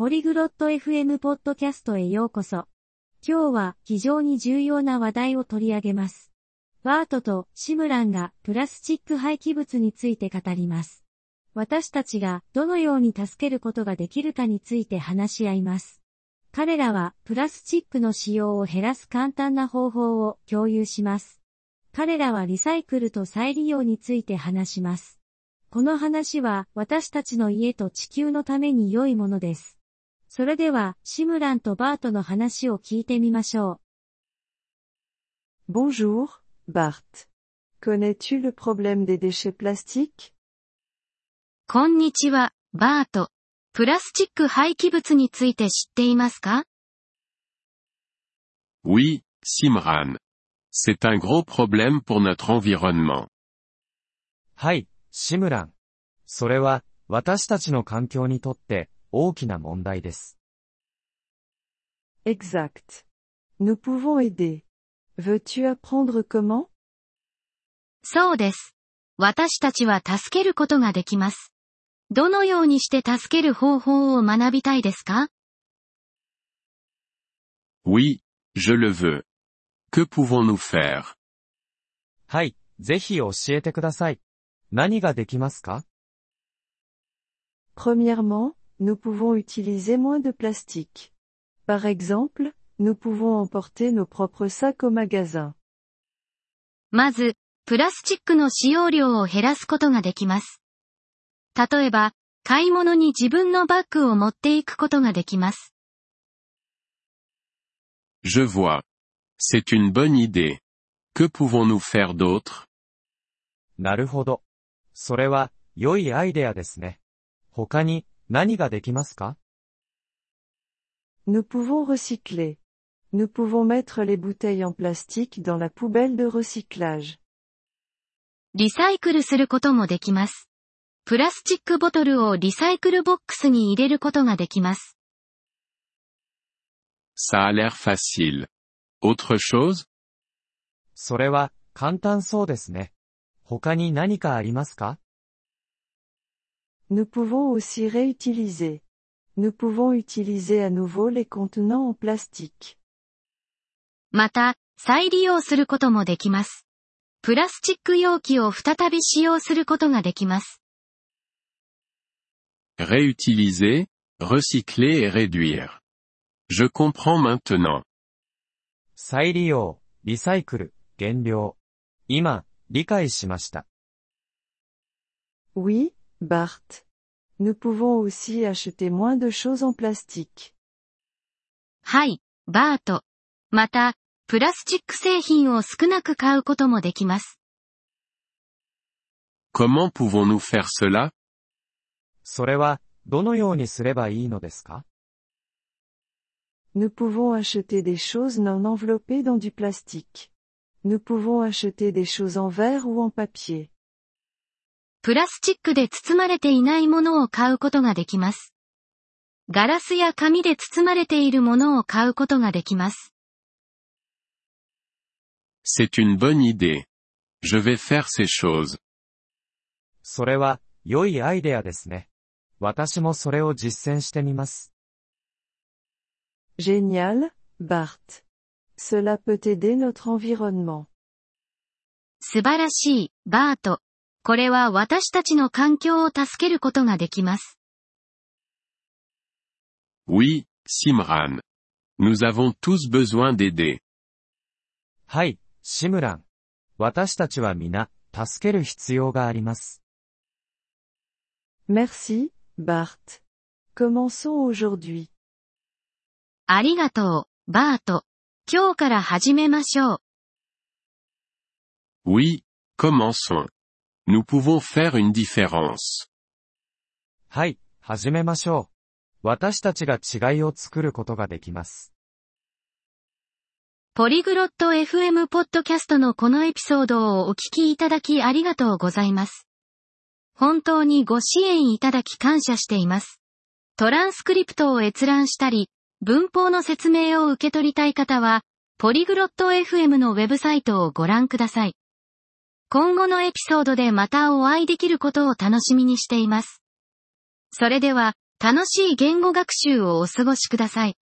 ポリグロット FM ポッドキャストへようこそ。今日は非常に重要な話題を取り上げます。バートとシムランがプラスチック廃棄物について語ります。私たちがどのように助けることができるかについて話し合います。彼らはプラスチックの使用を減らす簡単な方法を共有します。彼らはリサイクルと再利用について話します。この話は私たちの家と地球のために良いものです。それではシムランとバートの話を聞いてみましょう。Bonjour, Bart. Connais-tu le problème des déchets plastiques? こんにちは、バート。プラスチック廃棄物について知っていますか？ Oui, Simran. C'est un gros problème pour notre environnement. はい、シムラン。それは、私たちの環境にとって大きな問題です。 Exact. Nous pouvons aider. Veux-tu apprendre comment? そうです。私たちは助けることができます。どのようにして助ける方法を学びたいですか？ Oui, je le veux. Que pouvons-nous faire? はい、ぜひ教えてください。何ができますか？ Premièrement, nous pouvons utiliser moins de plastique. Par exemple, nous pouvons emporter nos propres sacs au magasin. まず、プラスチックの使用量を減らすことができます。例えば、買い物に自分のバッグを持っていくことができます。 Je vois. C'est une bonne idée. Que pouvons-nous faire d'autre? なるほど。それは、良いアイデアですね。他に、何ができますか？ Nous pouvons recycler. Nous pouvons mettre les bouteilles en plastique dans la poubelle de recyclage. リサイクルすることもできます。プラスチックボトルをリサイクルボックスに入れることができます。 Ça a l'air facile. Autre chose? それは、簡単そうですね。他に何かありますか？ Nous pouvons aussi réutiliser. Nous pouvons utiliser à nouveau les contenants en plastique. また、再利用することもできます。プラスチック容器を再び使用することができます。 Réutiliser, recycler et réduire. Je comprends maintenant. 再利用、リサイクル、減量。今、理解しました。 Oui, Bart. Nous pouvons aussi acheter moins de choses en plastique. はい、バート。また、プラスチック製品を少なく買うこともできます。 Comment pouvons-nous faire cela? それは、どのようにすればいいのですか？ Nous pouvons acheter des choses non enveloppées dans du plastique. Nous pouvons acheter des choses en verre ou en papier. プラスチックで包まれていないものを買うことができます。ガラスや紙で包まれているものを買うことができます。 C'est une bonne idée. Je vais faire ces choses. それは、良いアイデアですね。私もそれを実践してみます。 Génial, Bart. Cela peut aider notre environnement. 素晴らしい、バート。これは私たちの環境を助けることができます。 Oui, Simran. Nous avons tous besoin d'aider. はい、シムラン。私たちは皆、助ける必要があります。 Merci, Bart. Commençons aujourd'hui. ありがとう、バート。今日から始めましょう。 Oui, commençons. Nous pouvons faire une différence. はい、始めましょう。私たちが違いを作ることができます。 ポリグロット FM ポッドキャストのこのエピソードをお聞きいただきありがとうございます。本当にご支援いただき感謝しています。トランスクリプトを閲覧したり、文法の説明を受け取りたい方は、ポリグロット FM のウェブサイトをご覧ください。今後のエピソードでまたお会いできることを楽しみにしています。それでは、 楽しい言語学習をお過ごしください。